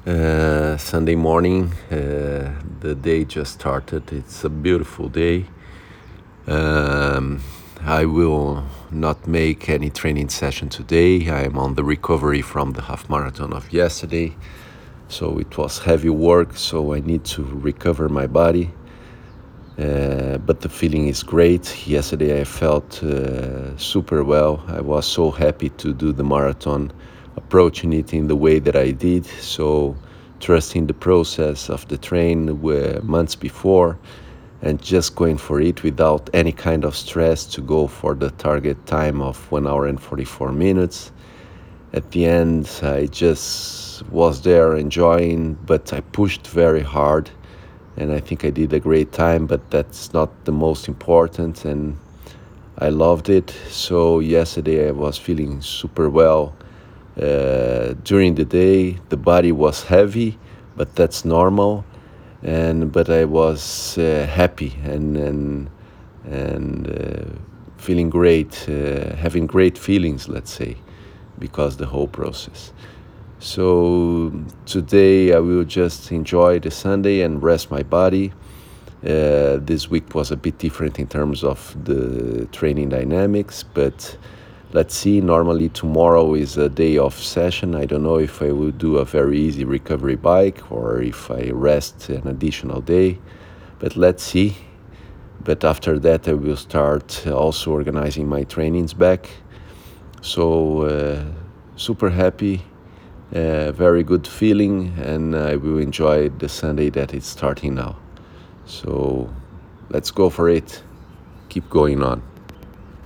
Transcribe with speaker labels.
Speaker 1: Sunday morning, the day just started. It's a beautiful day. Um, I will not make any training session today. I am on the recovery from the half marathon of yesterday. So it was heavy work, so I need to recover my body. But the feeling is great. Yesterday I felt super well. I was so happy to do the marathon, approaching it in the way that I did. So trusting the process of the train months before and just going for it without any kind of stress to go for the target time of 1 hour and 44 minutes. At the end, I just was there enjoying, but I pushed very hard and I think I did a great time, but that's not the most important, and I loved it. So yesterday I was feeling super well. During the day, the body was heavy, but that's normal, but I was happy and feeling great, having great feelings, let's say, because the whole process. So today I will just enjoy the Sunday and rest my body. This week was a bit different in terms of the training dynamics, but let's see. Normally tomorrow is a day off session. I don't know if I will do a very easy recovery bike or if I rest an additional day, but let's see. But after that I will start also organizing my trainings back. So super happy. Very good feeling, and I will enjoy the Sunday that is starting now. So let's go for it. Keep going on.